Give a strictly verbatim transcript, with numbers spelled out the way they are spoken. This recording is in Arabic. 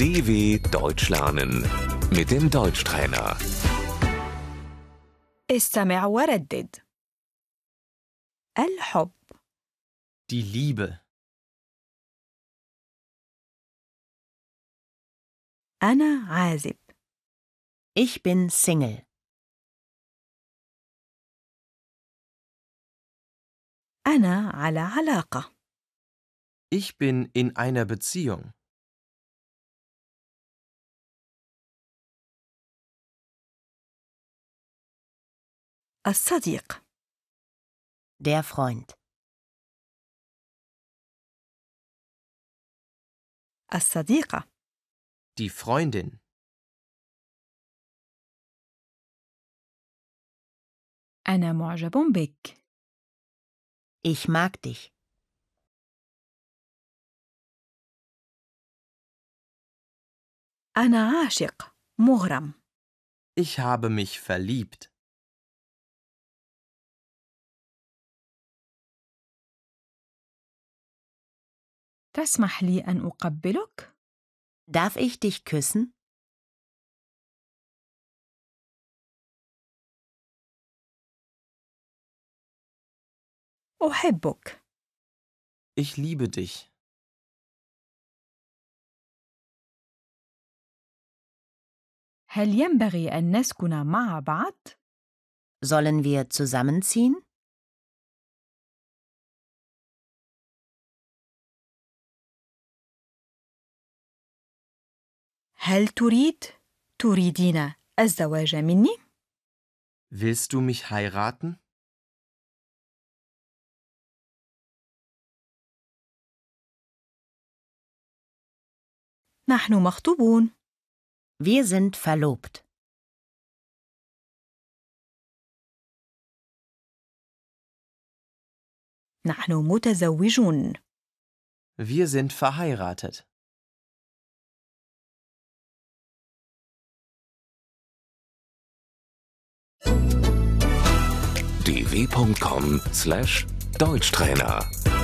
D W Deutsch lernen mit dem Deutschtrainer. استمع وردد. الحب. Die Liebe. أنا عازب. Ich bin Single. أنا على علاقة. Ich bin in einer Beziehung. الصديق. Der Freund. الصديقة. Die Freundin. أنا معجب بك. Ich mag dich. أنا عاشق مغرم. Ich habe mich verliebt. تسمح لي أن أقبلك؟ Darf ich dich küssen? أحبك. Ich liebe dich. هل ينبغي أن نسكن مع بعض؟ Sollen wir zusammenziehen? هل تريد تريدين الزواج مني؟ Willst du mich heiraten? نحن مخطوبون. Wir sind verlobt. نحن متزوجون. Wir sind verheiratet. d w punkt com slash Deutschtrainer